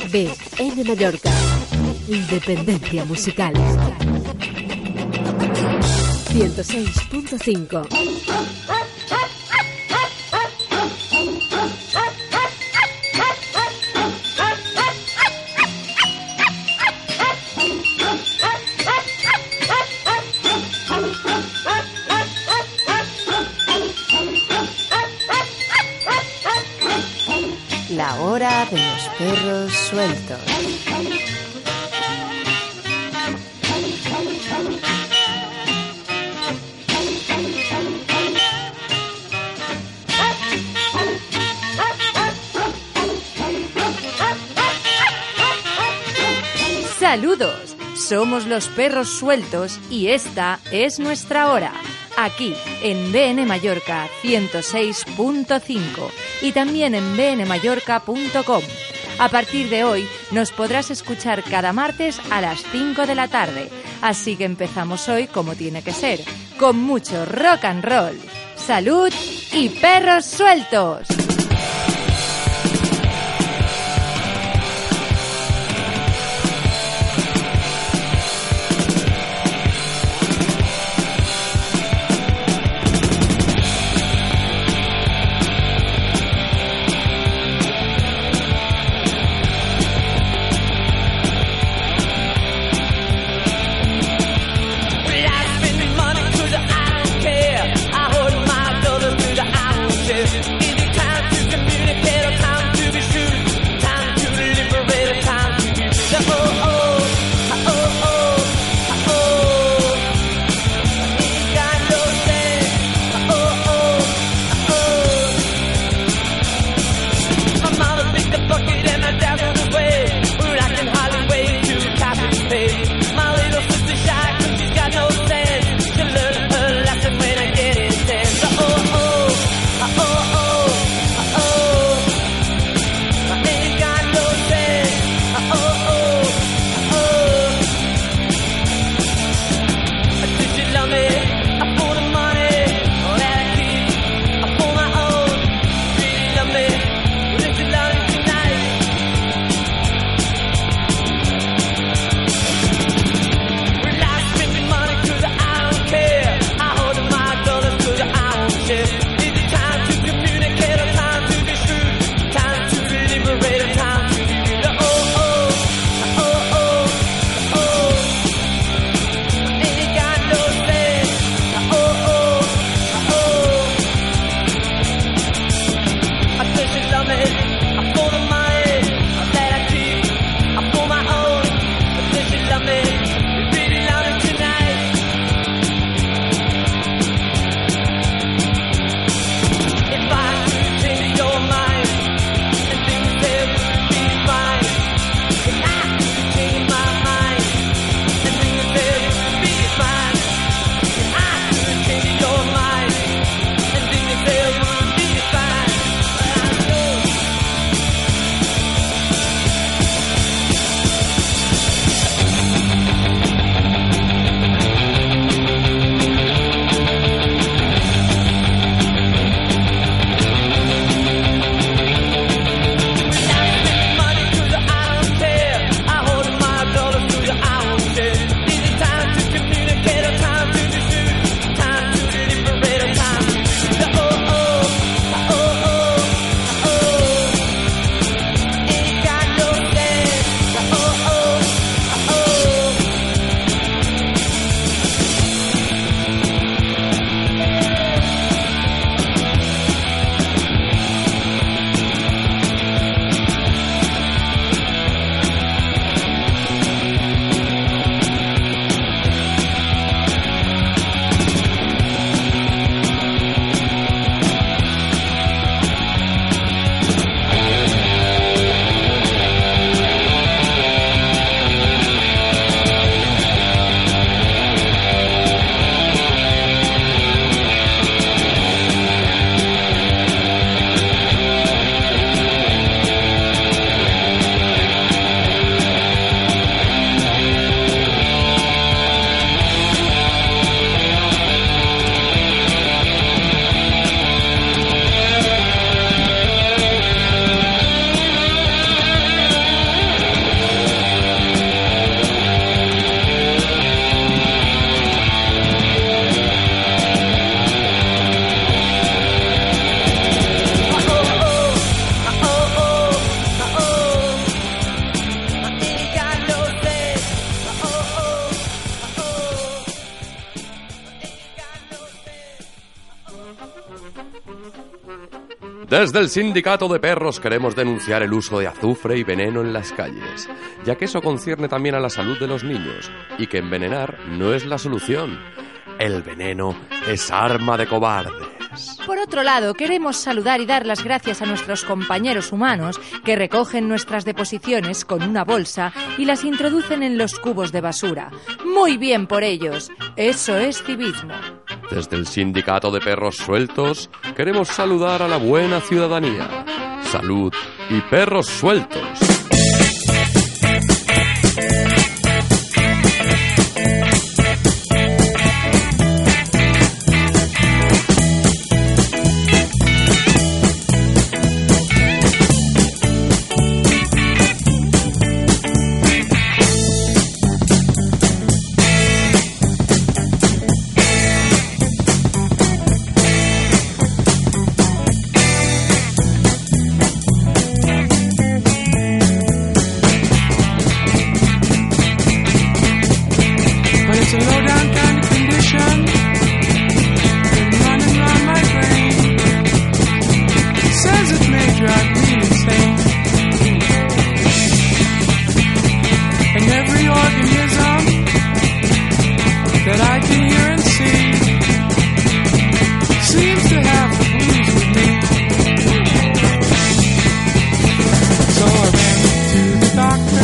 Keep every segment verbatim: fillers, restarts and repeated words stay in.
B N Mallorca. Independencia musical. ciento seis punto cinco. La hora de los perros sueltos. ¡Saludos! Somos los perros sueltos y esta es nuestra hora. Aquí en B N Mallorca ciento seis punto cinco y también en b n mallorca punto com. A partir de hoy nos podrás escuchar cada martes a las cinco de la tarde. Así que empezamos hoy como tiene que ser, con mucho rock and roll. ¡Salud y perros sueltos! Anytime Desde el Sindicato de Perros queremos denunciar el uso de azufre y veneno en las calles, ya que eso concierne también a la salud de los niños, y que envenenar no es la solución. El veneno es arma de cobardes. Por otro lado, queremos saludar y dar las gracias a nuestros compañeros humanos que recogen nuestras deposiciones con una bolsa y las introducen en los cubos de basura. Muy bien por ellos. Eso es civismo. Desde el Sindicato de Perros Sueltos queremos saludar a la buena ciudadanía. Salud y perros sueltos.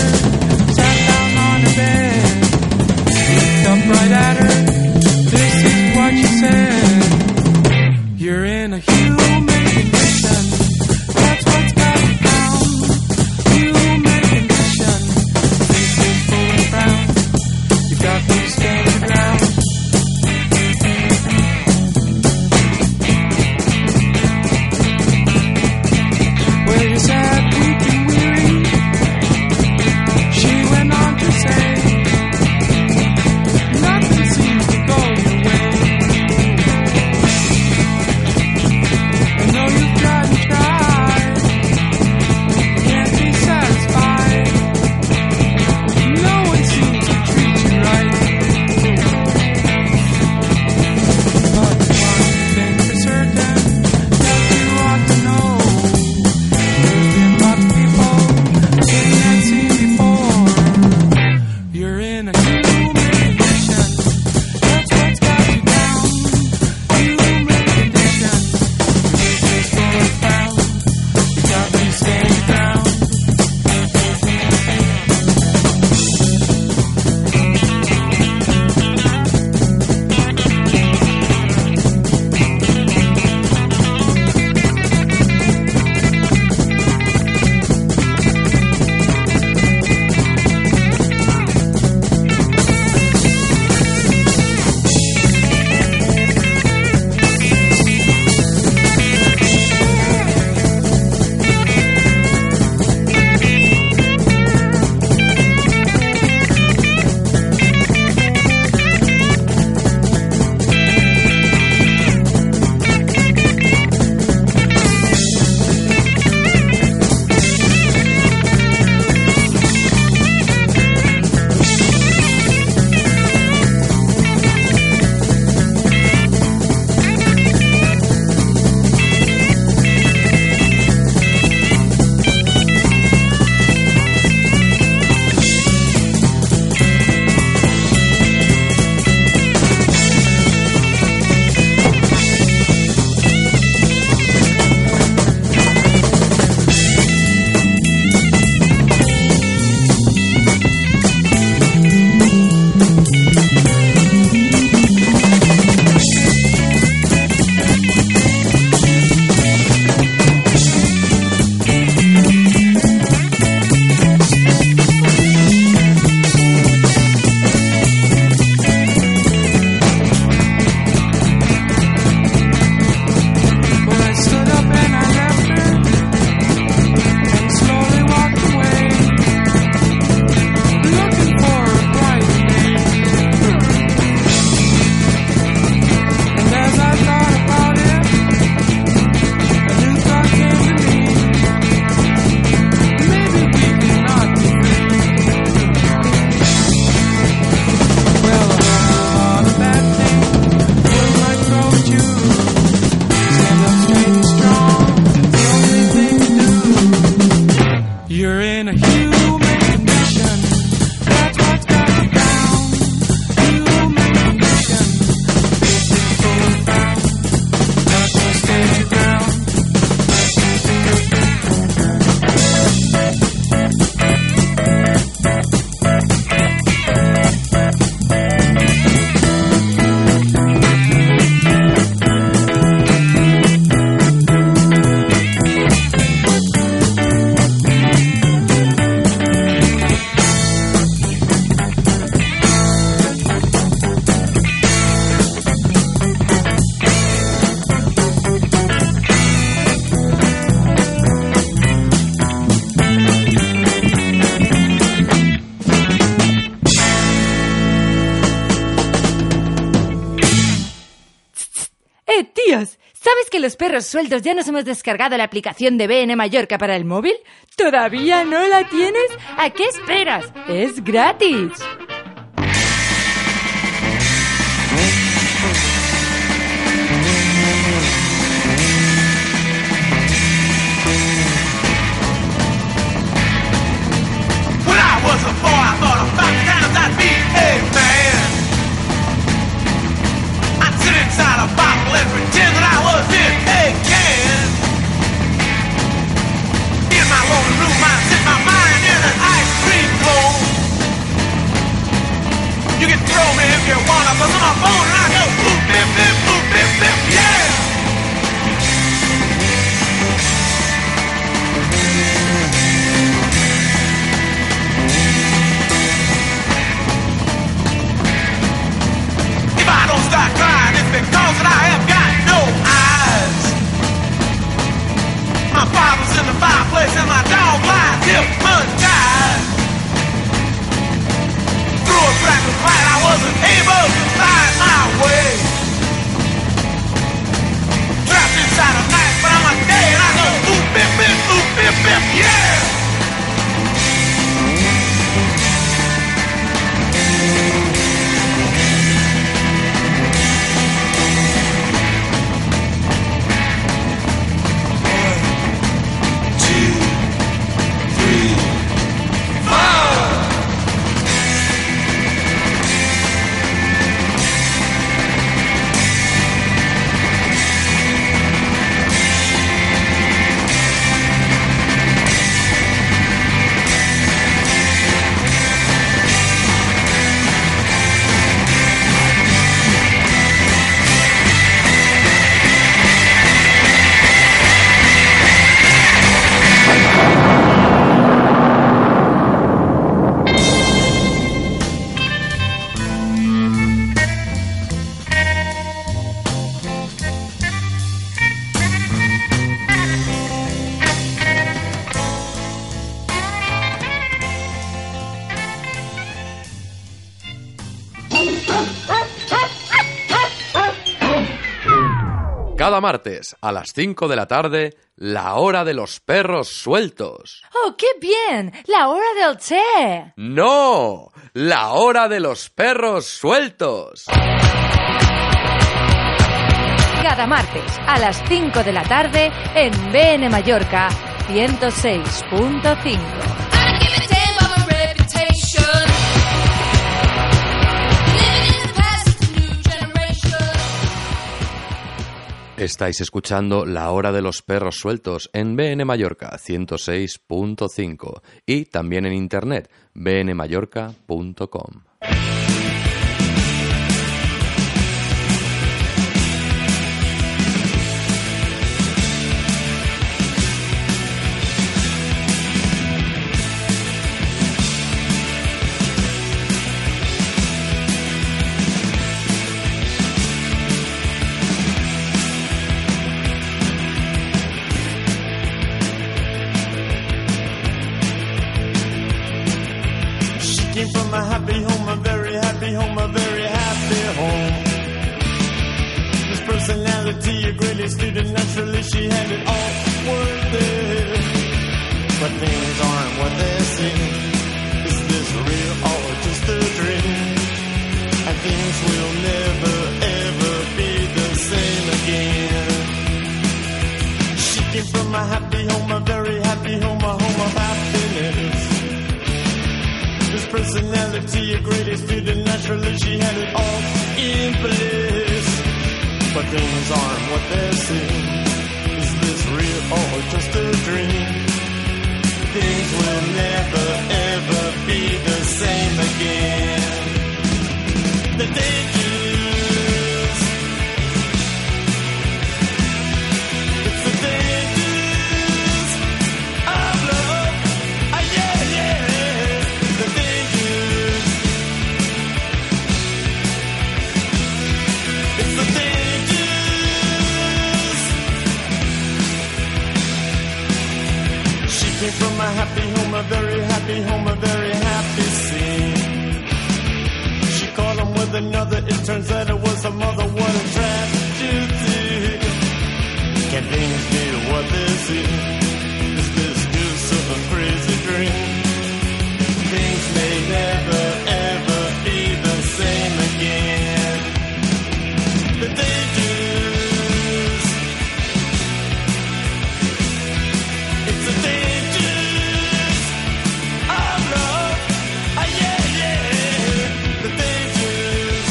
Right at her, this is You're in a human condition. That's what's got you down. Human condition. Beautiful and found. That's what stands your ground. ¿Sabes que los perros sueltos ya nos hemos descargado la aplicación de B N Mallorca para el móvil? ¿Todavía no la tienes? ¿A qué esperas? ¡Es gratis! When I was a boy, I thought a thousand times I'd be a man. I'd sit inside a bottle and pretend that I was in a can. In my lonely room, I'd sit my mind in an ice cream cone. You can throw me if you want, but on my phone and I go boop, bip, bip, boop, bip, bip, yeah. If I don't start crying, it's because that I have got no eyes. My father's in the fireplace and my dog lies hypnotized. Through a crackling fight, I wasn't able to find my way. Trapped inside a night, but I'm a day and I go boop, bip, bip, boop, bip, bip, yeah. Cada martes a las cinco de la tarde, la hora de los perros sueltos. ¡Oh, qué bien! ¡La hora del té! ¡No! ¡La hora de los perros sueltos! Cada martes a las cinco de la tarde en B N Mallorca ciento seis punto cinco. Estáis escuchando La Hora de los Perros Sueltos en B N Mallorca ciento seis punto cinco y también en internet b n mallorca punto com. Came from a happy home, a very happy home, a very happy home. This personality, a great student, naturally she had it all worth it. But things aren't what they seem. Is this real or just a dream? And things will never ever be the same again. She came from a happy home, a very happy home, a home of happiness. personality, a great student, naturally she had it all in place. But things aren't what they seem. Is this real or just a dream? Things will never ever be the same again. The dangers, it's the dangers of love. Ah, yeah, yeah, the dangers. It's the dangers. She came from a happy home, a very happy home, a very happy scene. She called him with another, it turns out it was her mother. What a tragedy. Can things be what they seem? Is this just some crazy dream? Things may never ever be the same again. The dangers, it's the dangers of love. Ah, yeah, yeah, the dangers.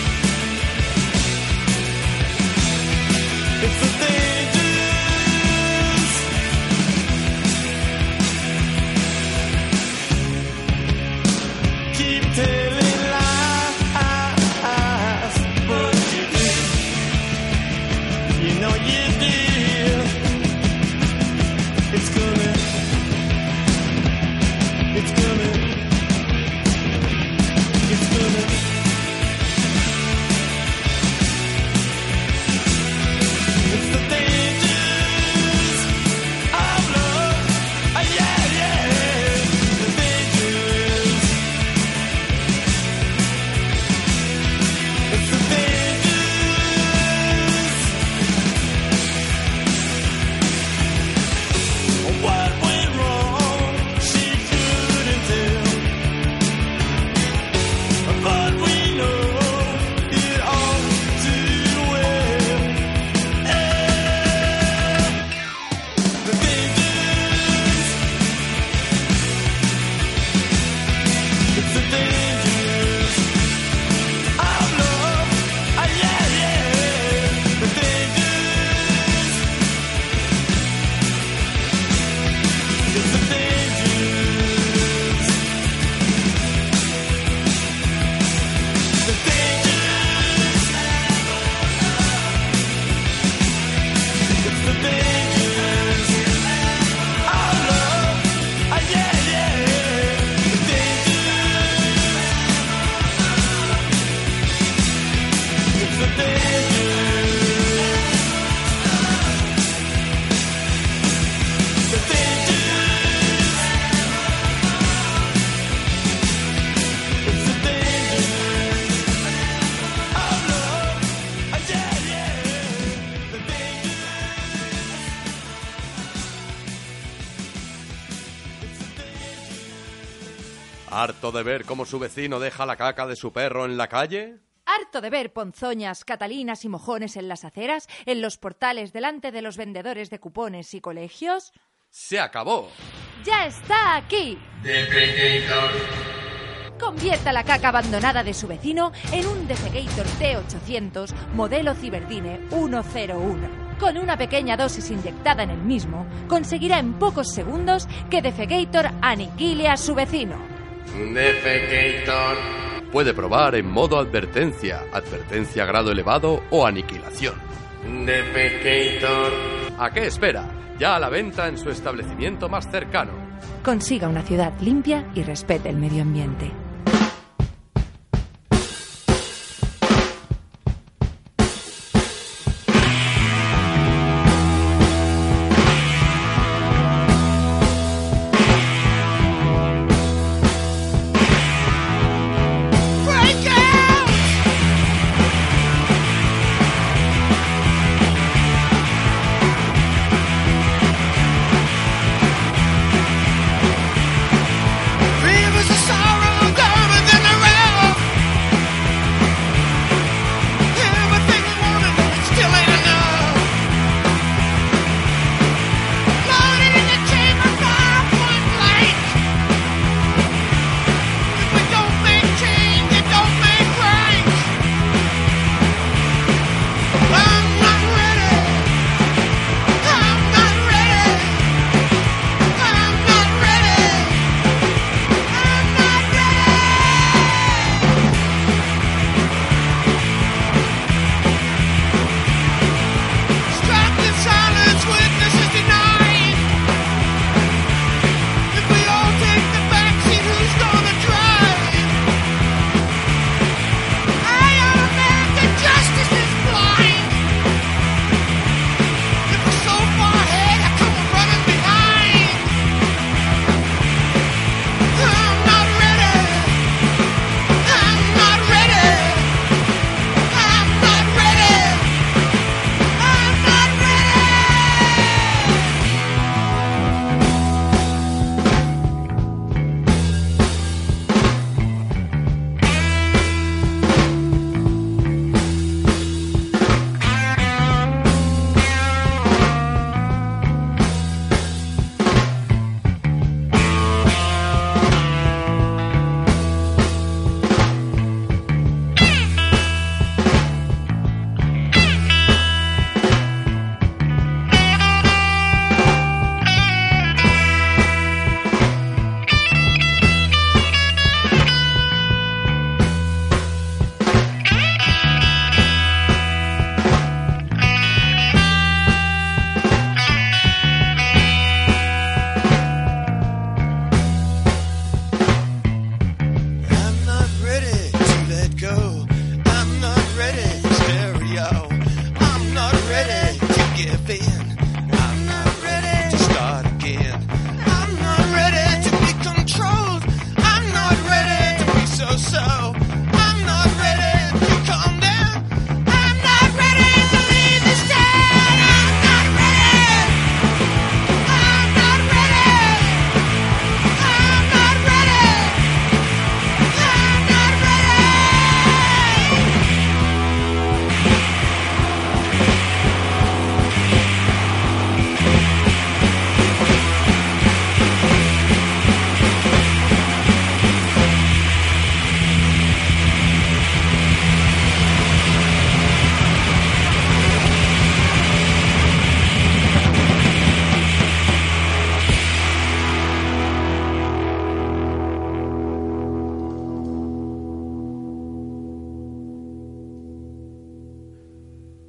It's the dangers. Keep telling lies, but you did. You know you did. It's coming. It's coming. It's coming. It's the dangers of love. Ah, yeah, yeah, the dangers. It's the dangers. What went wrong? She couldn't tell. But we know it all too well. Eh, the dangers. It's the dangers of love. Ah, yeah, yeah, the dangers. It's the dangers. The dangers. It's the dangers of love. Ah, yeah, yeah, the dangers. It's the dangers. The dangers. It's the dangers of love. Ah, yeah, yeah, the dangers. It's the dangers. ¿Harto de ver cómo su vecino deja la caca de su perro en la calle? ¿Harto de ver ponzoñas, catalinas y mojones en las aceras, en los portales delante de los vendedores de cupones y colegios? ¡Se acabó! ¡Ya está aquí! Convierta la caca abandonada de su vecino en un Defecator T ochocientos modelo Ciberdine ciento uno. Con una pequeña dosis inyectada en el mismo, conseguirá en pocos segundos que Defecator aniquile a su vecino. Defecator. Puede probar en modo advertencia, advertencia grado elevado o aniquilación. Defecator. ¿A qué espera? Ya a la venta en su establecimiento más cercano. Consiga una ciudad limpia y respete el medio ambiente. Rivers of sorrow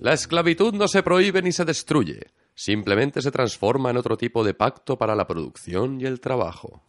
La esclavitud no se prohíbe ni se destruye, simplemente se transforma en otro tipo de pacto para la producción y el trabajo.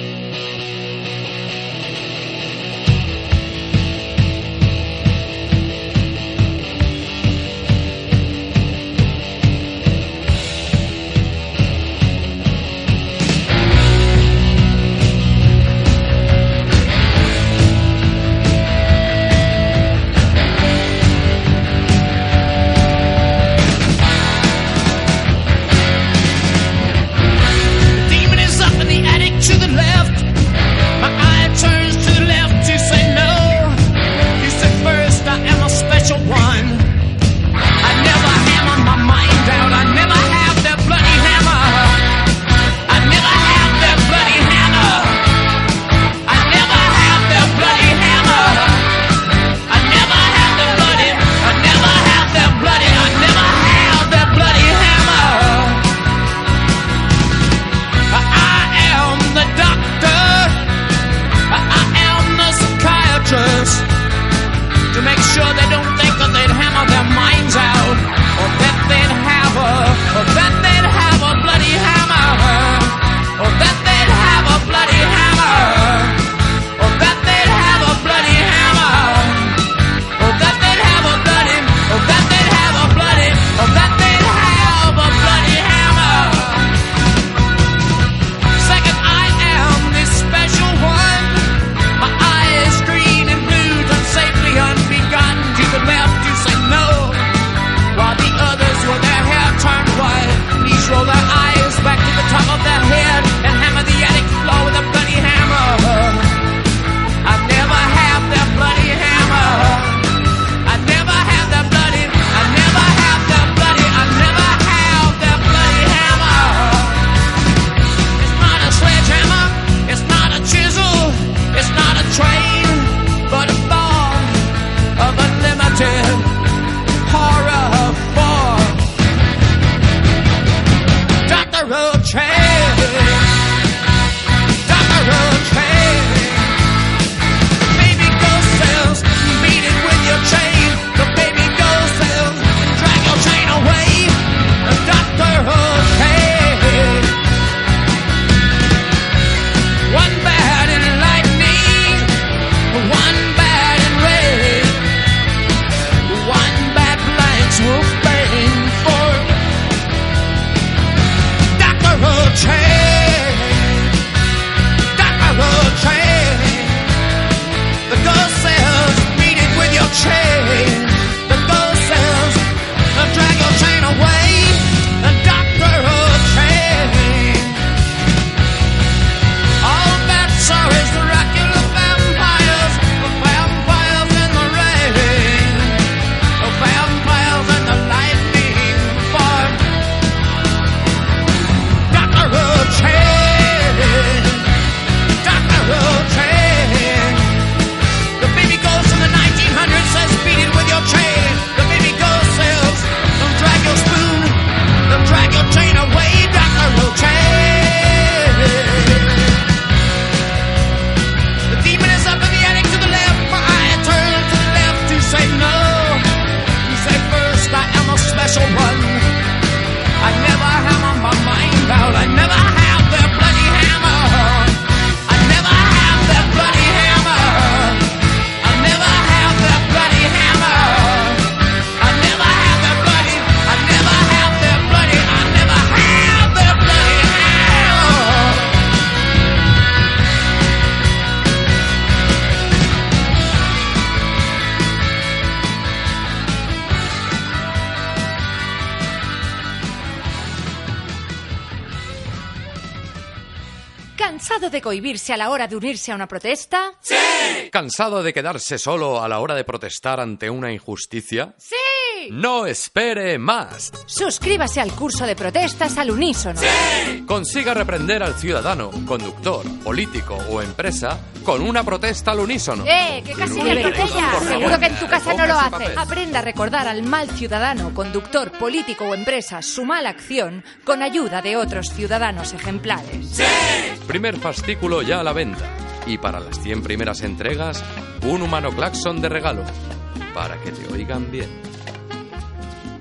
¿Cansado de cohibirse a la hora de unirse a una protesta? ¡Sí! ¿Cansado de quedarse solo a la hora de protestar ante una injusticia? ¡Sí! ¡No espere más! Suscríbase al curso de protestas al unísono. ¡Sí! Consiga reprender al ciudadano, conductor, político o empresa con una protesta al unísono. ¡Eh! ¡Que casi me Por atropella! favor, Seguro que en tu casa no lo recoja ese hace. papel. Aprenda a recordar al mal ciudadano, conductor, político o empresa su mala acción con ayuda de otros ciudadanos ejemplares. ¡Sí! Primer fascículo ya a la venta. Y para las cien primeras entregas, un humano claxon de regalo. Para que te oigan bien.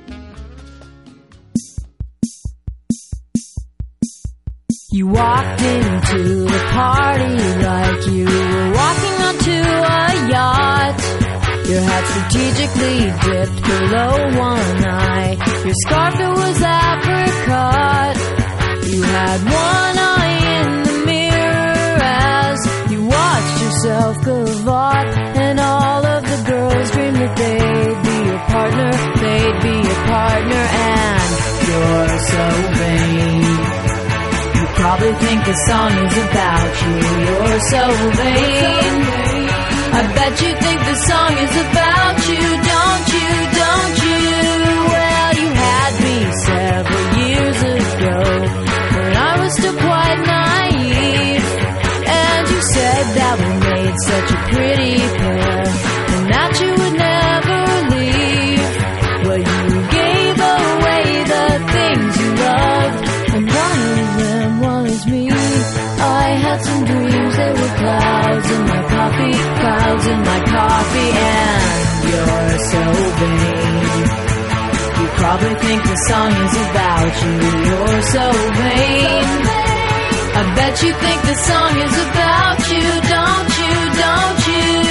You walked into the party like you were walking onto a yacht. Your hat strategically dipped below one eye. Your scarf, it was apricot. You had one eye in the mirror as you watched yourself gavotte. And all of the girls dreamed that they'd be your partner. They'd be your partner, and you're so vain. You probably think the song is about you. You're so vain. I bet you think the song is about you, don't you, don't you? Well, you had me several years ago when I was still quite naive. And you said that we made such a pretty pair and that you would never leave. Well, you gave away the things you loved, and one of them was me. I had some dreams, there were clouds in my coffee, clouds in my coffee, and you're so vain. You probably think the song is about you. You're so vain. I bet you think the song is about you, don't you, don't you?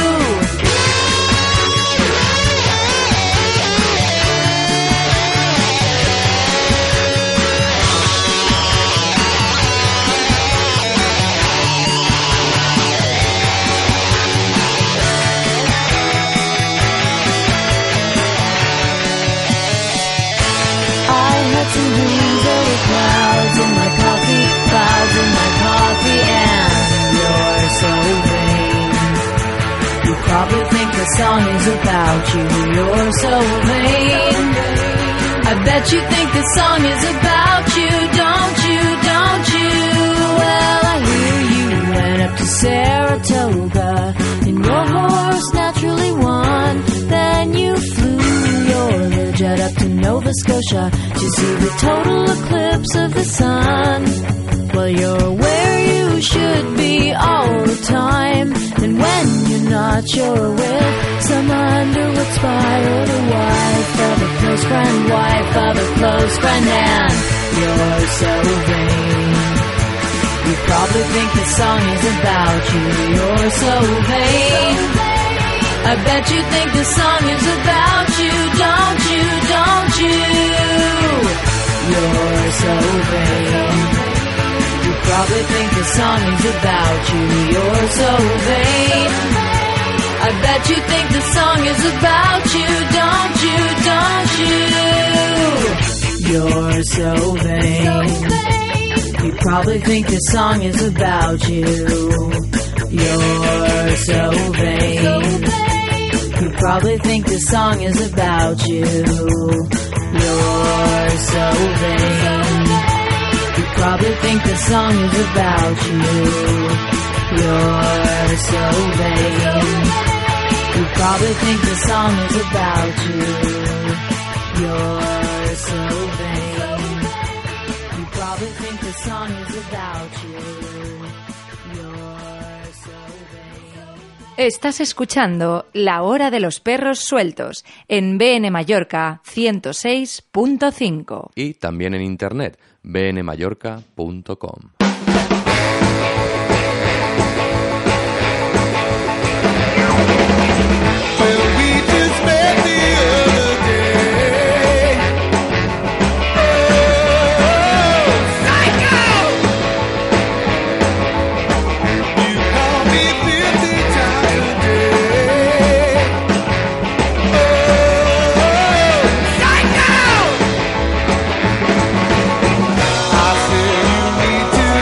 Some dreams, there were clouds in my coffee, clouds in my coffee, and you're so vain. You probably think the song is about you. You're so vain. I bet you think the song is about you, don't you, don't you? Well, I hear you went up to Saratoga and your horse naturally won. Then you flew your Learjet up to Nova Scotia to see the total eclipse of the sun. Well, you're where you should be all the time, and when you're not, you're with some underwood spy or the wife of a close friend, wife of a close friend, and you're so vain. You probably think the song is about you. You're so vain. I bet you think the song is about you, don't you, don't you? You're so vain. You probably think the song is about you. You're so vain. I bet you think the song is about you, don't you, don't you? You're so vain. You probably think the song is about you. You're so vain. You probably think the song is about you. You're so vain. You probably think the song is about you. You're so vain. You probably think the song is about you. You're so vain. You probably think the song is about you. You're so vain. Estás escuchando La Hora de los Perros Sueltos en B N Mallorca ciento seis punto cinco. Y también en internet, b n mallorca punto com. I said you need to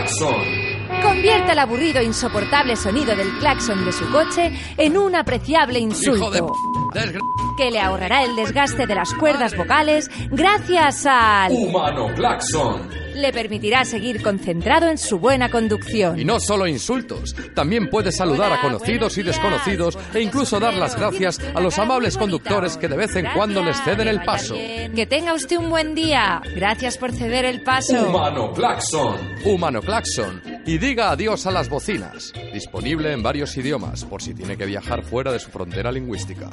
Claxon. Convierte el aburrido e insoportable sonido del claxon de su coche en un apreciable insulto. Hijo de p... desgra... que le ahorrará el desgaste de las cuerdas vocales gracias al... Humano Claxon. Le permitirá seguir concentrado en su buena conducción. Y no solo insultos, también puede saludar a conocidos y desconocidos e incluso dar las gracias a los amables conductores que de vez en cuando les ceden el paso. Que tenga usted un buen día. Gracias por ceder el paso. Humano Claxon. Humano Claxon. Y diga adiós a las bocinas. Disponible en varios idiomas, por si tiene que viajar fuera de su frontera lingüística.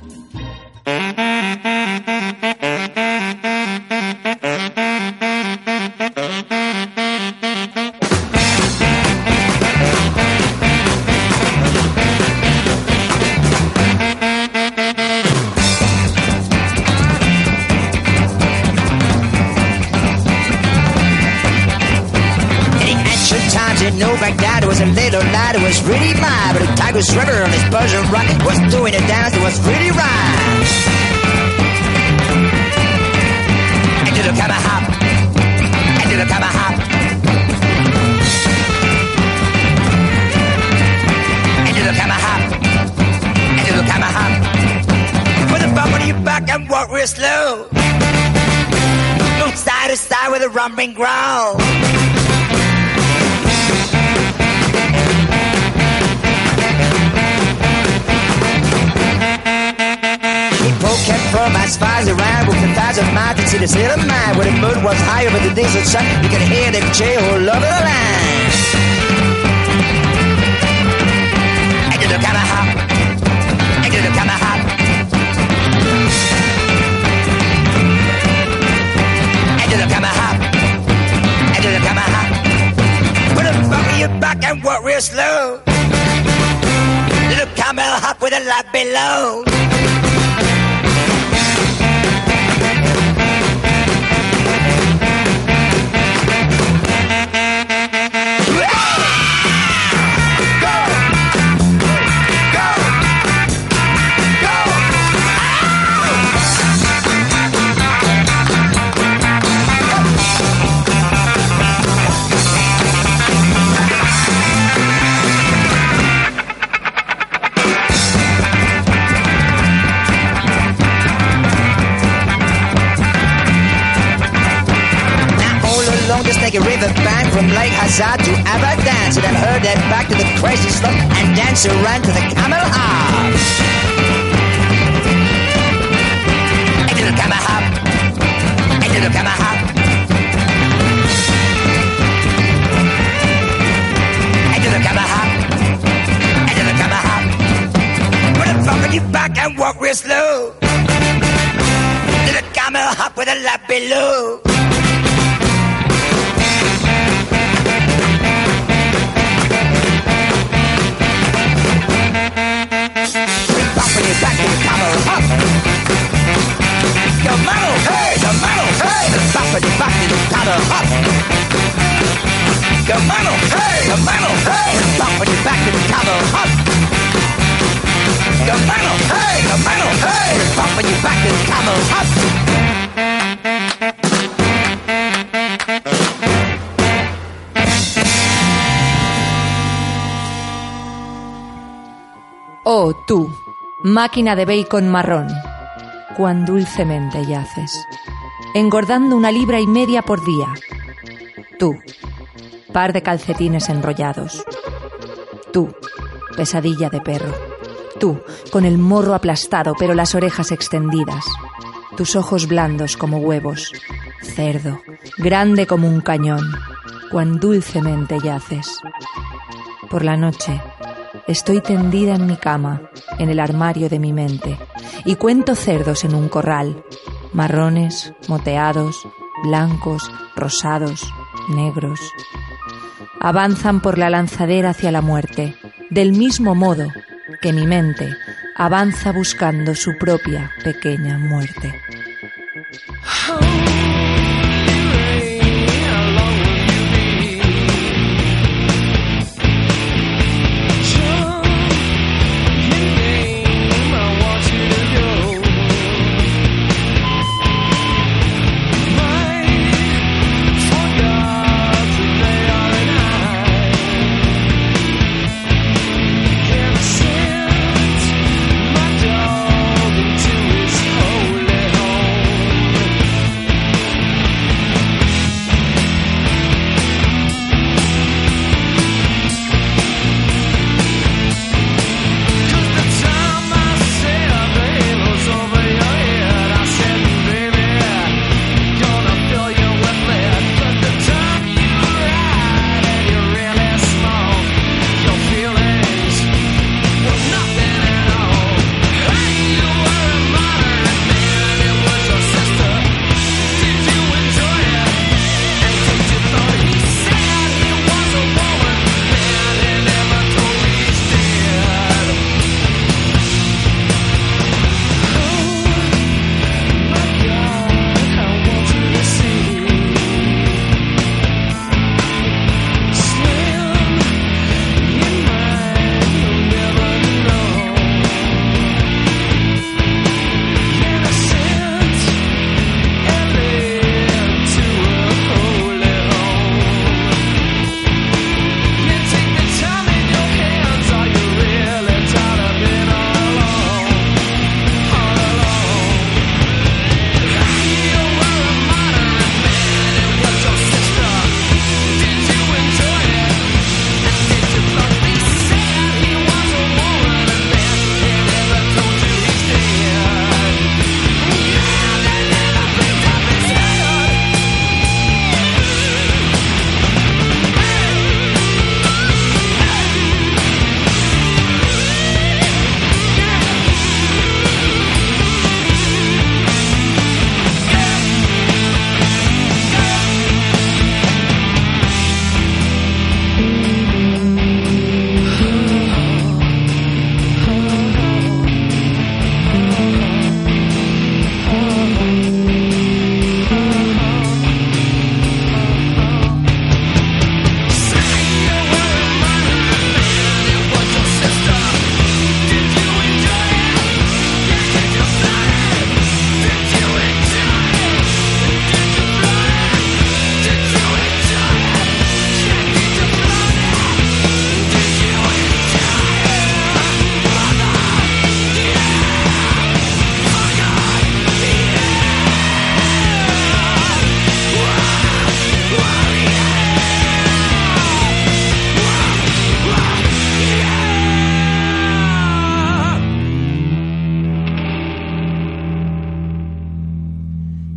No Baghdad was a little lad who was really mad, but the Tigris River on his Persian rock was doing a dance that was really right. And do the camera hop, and do the camera hop, and do the camera hop, and do the camera hop. Put the bump on your back and walk real slow. Move side to side with a rumbling growl. Kept from as far as around with the thousand miles to see the city of mine where the moon was higher but the diesel sun you could hear them cheer all over the line. I do the kind of hop, I do the kind of hop, I do the kind of hop, I do the kind of hop. Put a bump on your back and walk real slow. Do the camel hop with a light below. Like a river bank from Lake Hazard to Abadan. So then heard that back to the crazy slope and dance around to the camel hop. I do the camel hop. I do the camel hop. I do the camel hop. I do the camel hop. Put a bump on your back and walk real slow. Do the camel hop with a lap below. Back to the camel hop. Camel, hey, camel, hey. Back to the back to the camel hop. Camel, hey, camel, hey. Back to the back to the camel hop. Camel, hey, camel, hey. Back to the back to the camel hop. Oh, tú. Máquina de bacon marrón, cuán dulcemente yaces, engordando una libra y media por día. Tú, par de calcetines enrollados. Tú, pesadilla de perro. Tú, con el morro aplastado pero las orejas extendidas. Tus ojos blandos como huevos. Cerdo, grande como un cañón, cuán dulcemente yaces. Por la noche, estoy tendida en mi cama, en el armario de mi mente, y cuento cerdos en un corral, marrones, moteados, blancos, rosados, negros. Avanzan por la lanzadera hacia la muerte, del mismo modo que mi mente avanza buscando su propia pequeña muerte.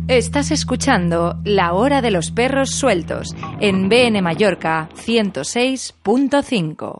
Estás escuchando La Hora de los Perros Sueltos en B N Mallorca ciento seis punto cinco.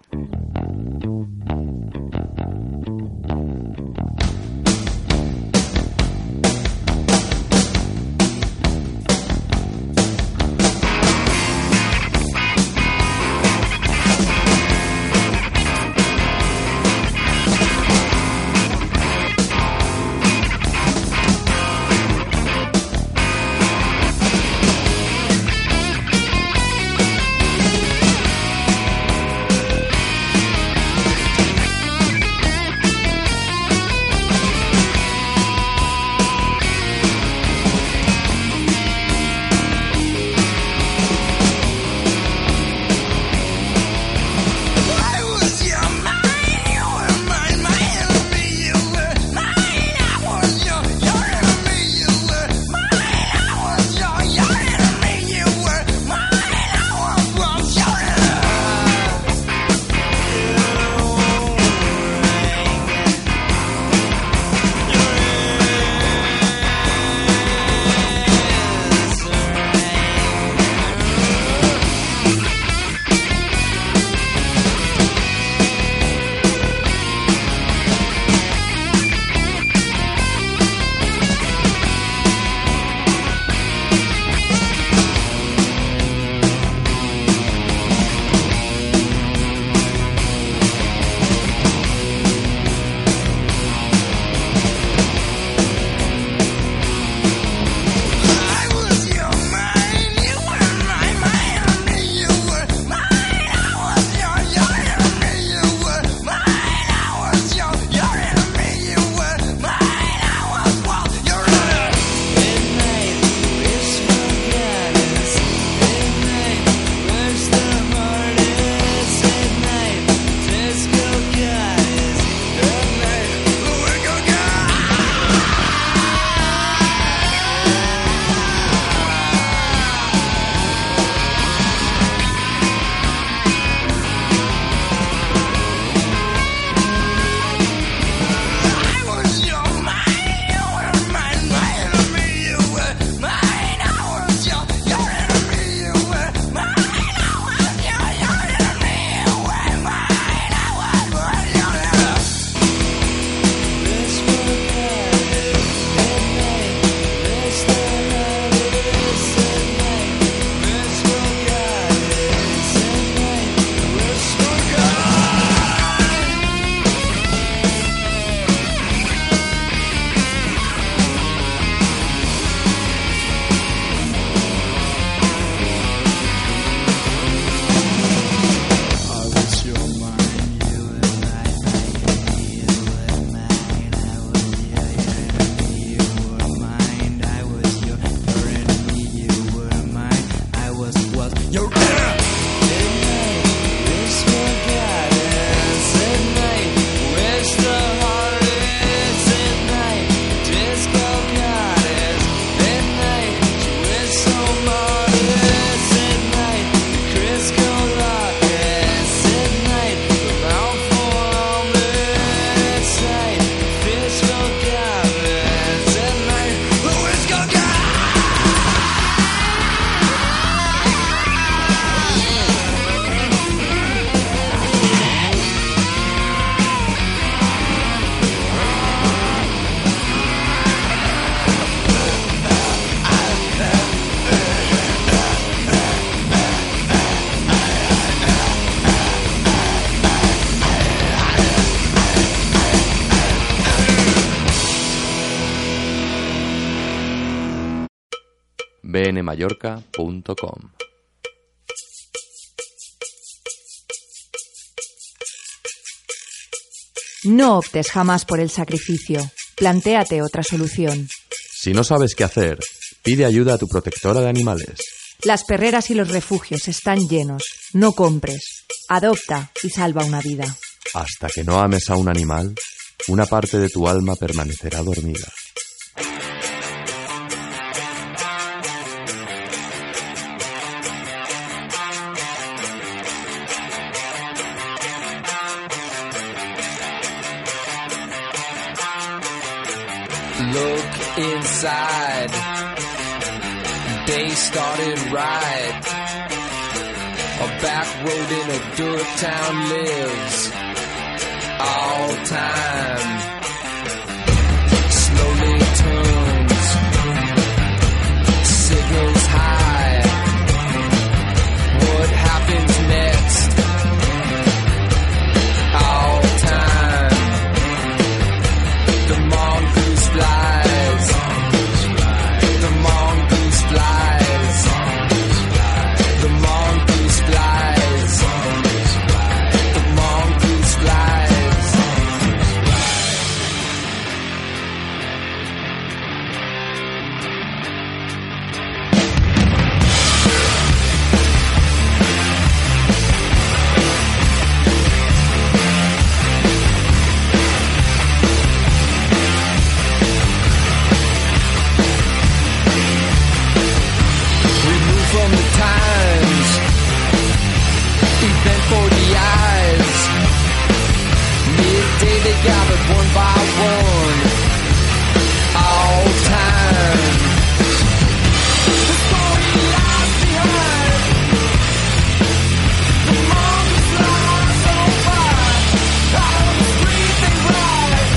b n mallorca punto com. No optes jamás por el sacrificio. Plantéate otra solución. Si no sabes qué hacer, pide ayuda a tu protectora de animales. Las perreras y los refugios están llenos. No compres. Adopta y salva una vida. Hasta que no ames a un animal, una parte de tu alma permanecerá dormida. Look inside Day started right. A back road in a dirt town lives all time. Slowly turns, signals high. What happens next? All time. The mongoose flies. The mongoose flies. The mongoose flies. The mongoose flies. We move from the times, event for the eyes. Midday they gathered one by one, all time. The story lies behind. The mongoose flies on by. Out on the street they ride.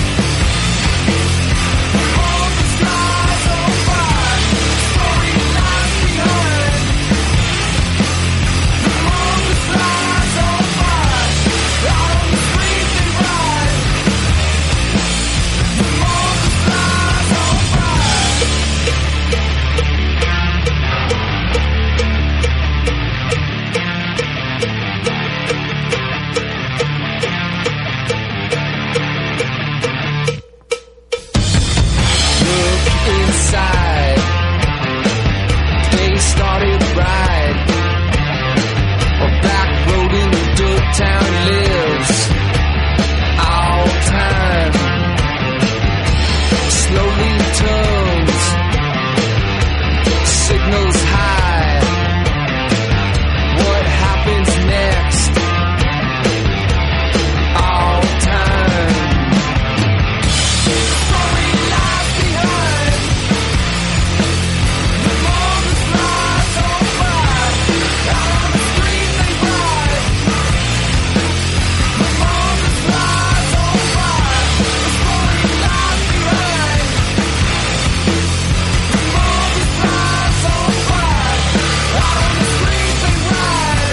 The mongoose flies on by. The story lies behind. The mongoose flies on by. Out on the street they ride. The mongoose flies on by. Look inside. They started right. A back road in the dirt town lives all time. Slowly turns, signals high. What happens next? All time. Story lies behind. The mongoose flies on by. Out on the street they ride. The mongoose flies on by. The story lies behind. The mongoose flies on by. Out on the street they ride.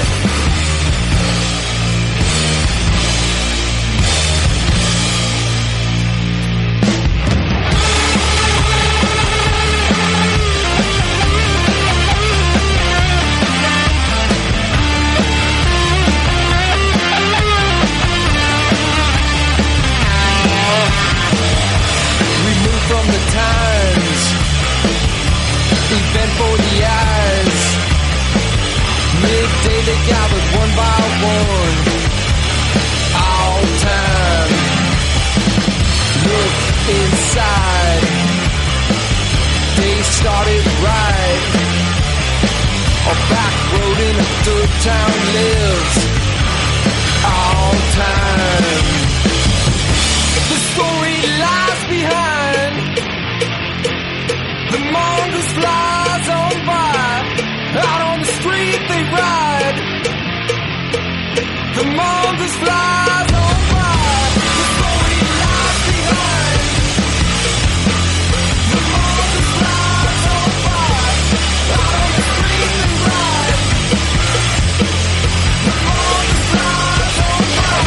We move from the times, event for the eyes. Midday they gathered one by one, all time. Look inside. They started right. A back road in a dirt town lives all time. The story lies behind. The mongoose flies on by. Out on the street they ride. The mongoose flies on by. The story lies behind. The mongoose flies on by. Out on the street they ride. The mongoose flies on by.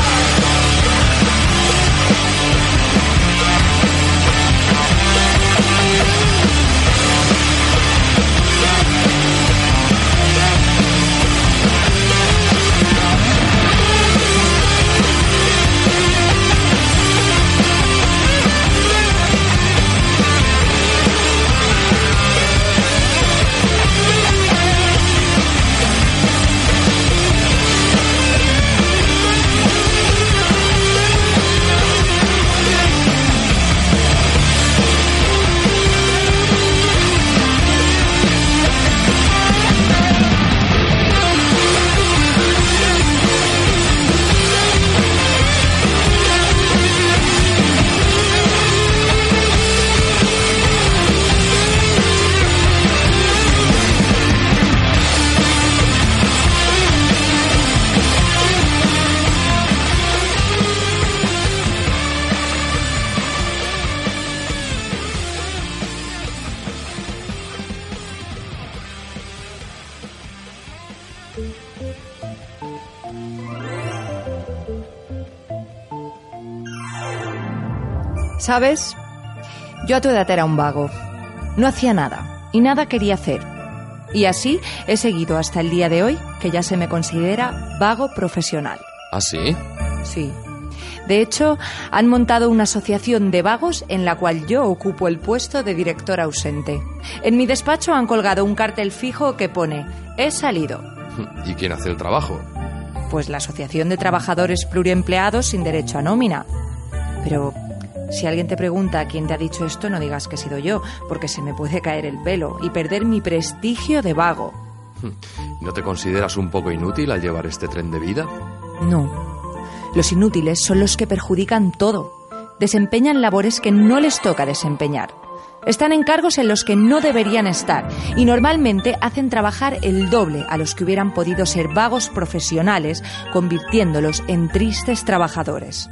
¿Sabes? Yo a tu edad era un vago. No hacía nada y nada quería hacer. Y así he seguido hasta el día de hoy, que ya se me considera vago profesional. ¿Ah, sí? Sí. De hecho, han montado una asociación de vagos en la cual yo ocupo el puesto de director ausente. En mi despacho han colgado un cartel fijo que pone «He salido». ¿Y quién hace el trabajo? Pues la Asociación de Trabajadores Pluriempleados sin derecho a nómina. Pero si alguien te pregunta quién te ha dicho esto, no digas que he sido yo, porque se me puede caer el pelo y perder mi prestigio de vago. ¿No te consideras un poco inútil al llevar este tren de vida? No. Los inútiles son los que perjudican todo. Desempeñan labores que no les toca desempeñar. Están en cargos en los que no deberían estar y normalmente hacen trabajar el doble a los que hubieran podido ser vagos profesionales, convirtiéndolos en tristes trabajadores.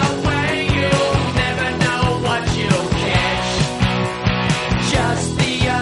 Just the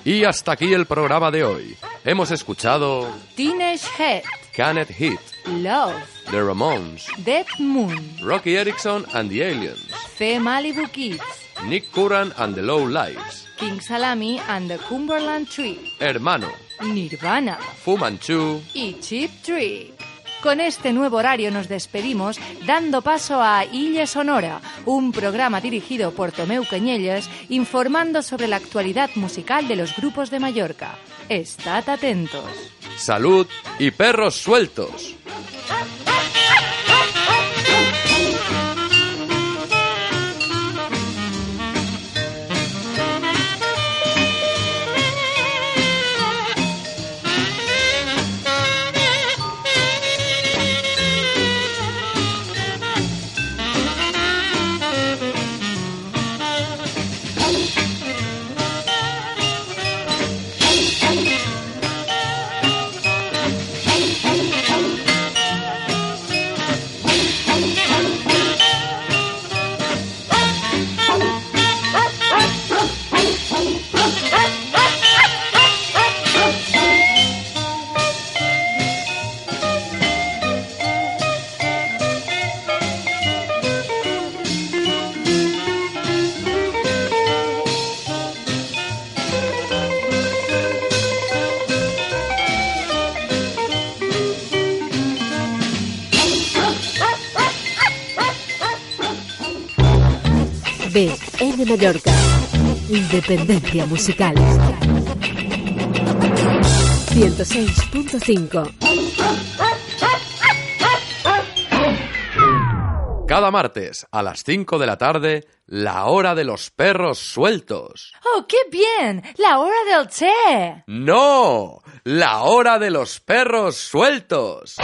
Y hasta aquí el programa de hoy. Hemos escuchado Teenage Head, Canet Heat, Love, The Ramones, Dead Moon, Rocky Erickson and the Aliens, The Malibu Kids, Nick Curran and the Low Lives, King Salami and the Cumberland Tree, Hermano, Nirvana Fu Manchu. y Cheap Trick. Con este nuevo horario nos despedimos dando paso a Illa Sonora, un programa dirigido por Tomeu Cañellas informando sobre la actualidad musical de los grupos de Mallorca. Estad atentos. Salud y perros sueltos. B N Mallorca. Independencia musical. ciento seis punto cinco. Cada martes a las cinco de la tarde, la hora de los perros sueltos. ¡Oh, qué bien! ¡La hora del té! ¡No! La hora de los perros sueltos.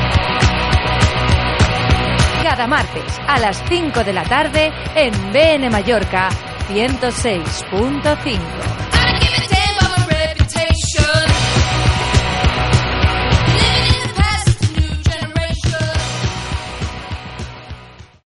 Cada martes a las cinco de la tarde en B N Mallorca ciento seis punto cinco.